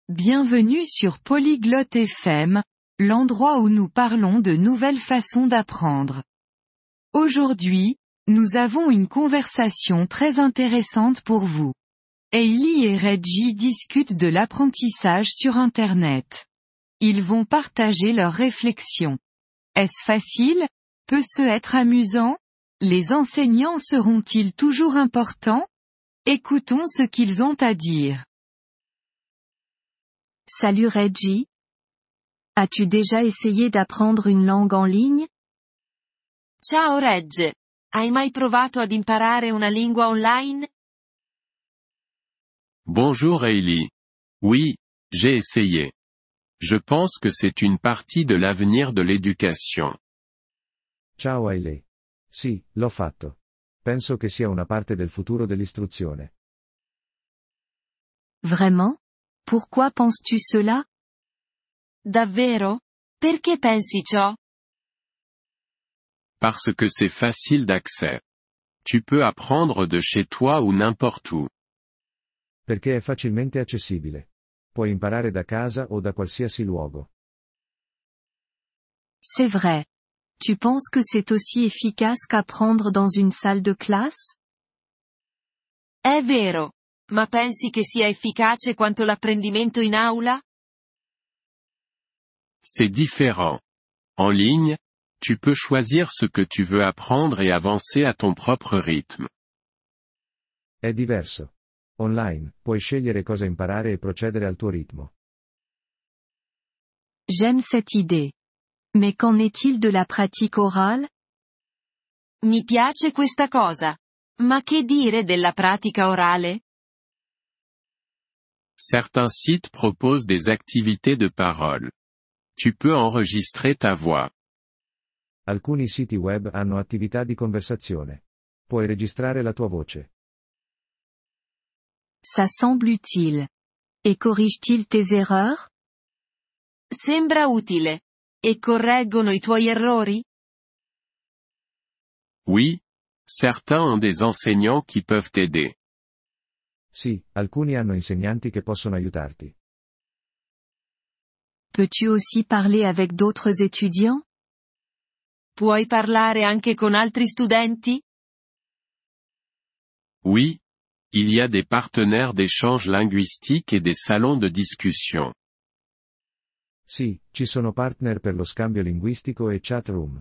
Bienvenue sur Polyglotte FM, l'endroit où nous parlons de nouvelles façons d'apprendre. Aujourd'hui, nous avons une conversation très intéressante pour vous. Hailey et Reggie discutent de l'apprentissage sur Internet. Ils vont partager leurs réflexions. Est-ce facile? Peut-ce être amusant? Les enseignants seront-ils toujours importants? Écoutons ce qu'ils ont à dire. Salut Reggie. As-tu déjà essayé d'apprendre une langue en ligne? Ciao Reg. Hai mai provato ad imparare una lingua online? Bonjour Hailey. Oui, j'ai essayé. Je pense que c'est une partie de l'avenir de l'éducation. Ciao Hailey. Sì, l'ho fatto. Penso che sia una parte del futuro dell'istruzione. Vraiment? Pourquoi penses-tu cela? Davvero? Perché pensi ciò? Parce que c'est facile d'accès. Tu peux apprendre de chez toi ou n'importe où. Perché è facilmente accessibile. Puoi imparare da casa o da qualsiasi luogo. C'est vrai. Tu penses que c'est aussi efficace qu'apprendre dans une salle de classe? È vero. Ma pensi che sia efficace quanto l'apprendimento in aula? C'est différent. En ligne, tu peux choisir ce que tu veux apprendre et avancer à ton propre rythme. È diverso. Online, puoi scegliere cosa imparare e procedere al tuo ritmo. J'aime cette idée. Mais qu'en est-il de la pratique orale? Mi piace questa cosa. Ma che dire della pratica orale? Certains sites proposent des activités de parole. Tu peux enregistrer ta voix. Alcuni siti web hanno attività di conversazione. Puoi registrare la tua voce. Ça semble utile. Et corrige-t-il tes erreurs? Sembra utile. E correggono i tuoi errori? Oui, certains ont des enseignants qui peuvent t'aider. Sì, alcuni hanno insegnanti che possono aiutarti. Peux-tu aussi parler avec d'autres étudiants? Puoi parlare anche con altri studenti? Oui, il y a des partenaires d'échange linguistique et des salons de discussion. Sì, ci sono partner per lo scambio linguistico e chat room.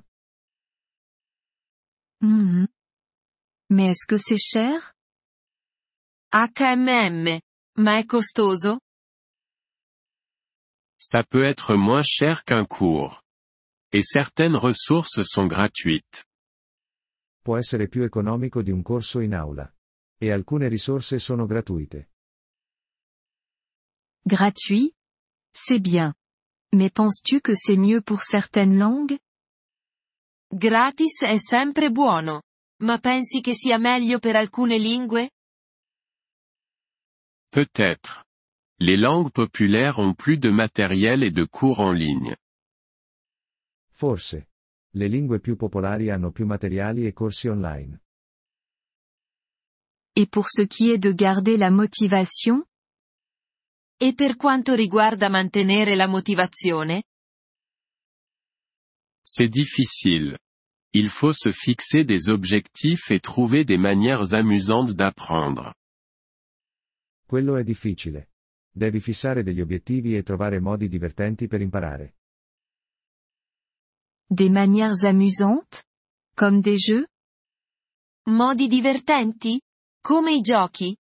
Mhm. Mais est-ce que c'est cher? HMM. Ma è costoso? Ça peut être moins cher qu'un cours. Et certaines ressources sont gratuites. Può essere più economico di un corso in aula. E alcune risorse sono gratuite. Gratuit? C'est bien. Mais penses-tu que c'est mieux pour certaines langues? Gratis è sempre buono. Ma pensi che sia meglio per alcune lingue? Peut-être. Les langues populaires ont plus de matériel et de cours en ligne. Forse. Le lingue più popolari hanno più materiali e corsi online. Et pour ce qui est de garder la motivation? E per quanto riguarda mantenere la motivazione? C'est difficile. Il faut se fixer des objectifs et trouver des manières amusantes d'apprendre. Quello è difficile. Devi fissare degli obiettivi e trovare modi divertenti per imparare. Des manières amusantes? Comme des jeux? Modi divertenti? Come i giochi?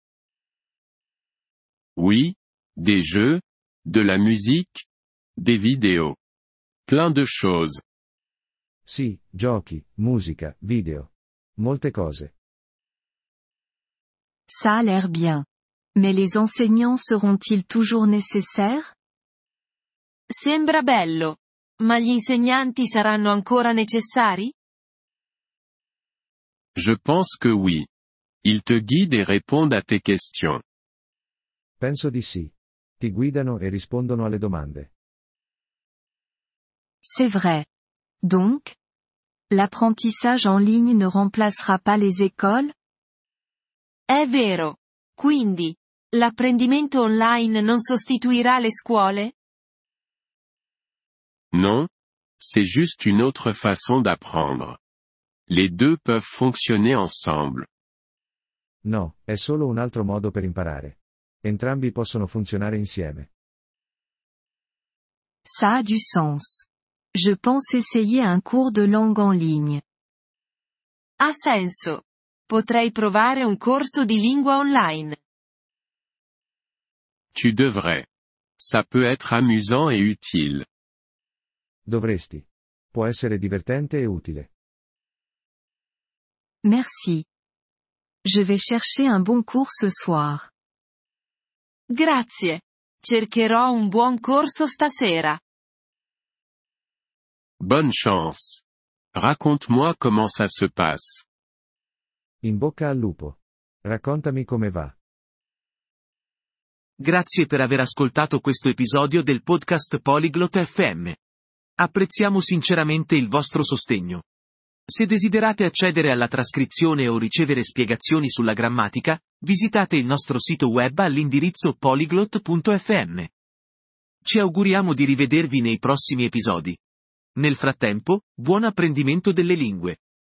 Oui, des jeux, de la musique, des vidéos. Plein de choses. Sì, giochi, musica, video. Molte cose. Ça a l'air bien. Mais les enseignants seront-ils toujours nécessaires? Sembra bello. Ma gli insegnanti saranno ancora necessari? Je pense que oui. Ils te guident et répondent à tes questions. Penso di sì. Ti guidano e rispondono alle domande. C'est vrai. Donc, l'apprentissage en ligne ne remplacera pas les écoles? È vero. Quindi, L'apprendimento online non sostituirà le scuole? Non, c'est juste une autre façon d'apprendre. Les deux peuvent fonctionner ensemble. No, è solo un altro modo per imparare. Entrambi possono funzionare insieme. Ça a du sens. Je pense essayer un cours de langue en ligne. Ha senso. Potrei provare un corso di lingua online. Tu devrais. Ça peut être amusant et utile. Dovresti. Può essere divertente e utile. Merci. Je vais chercher un bon cours ce soir. Grazie. Cercherò un buon corso stasera. Bonne chance. Raconte-moi comment ça se passe. In bocca al lupo. Raccontami come va. Grazie per aver ascoltato questo episodio del podcast Polyglot FM. Apprezziamo sinceramente il vostro sostegno. Se desiderate accedere alla trascrizione o ricevere spiegazioni sulla grammatica, visitate il nostro sito web all'indirizzo polyglot.fm. Ci auguriamo di rivedervi nei prossimi episodi. Nel frattempo, buon apprendimento delle lingue.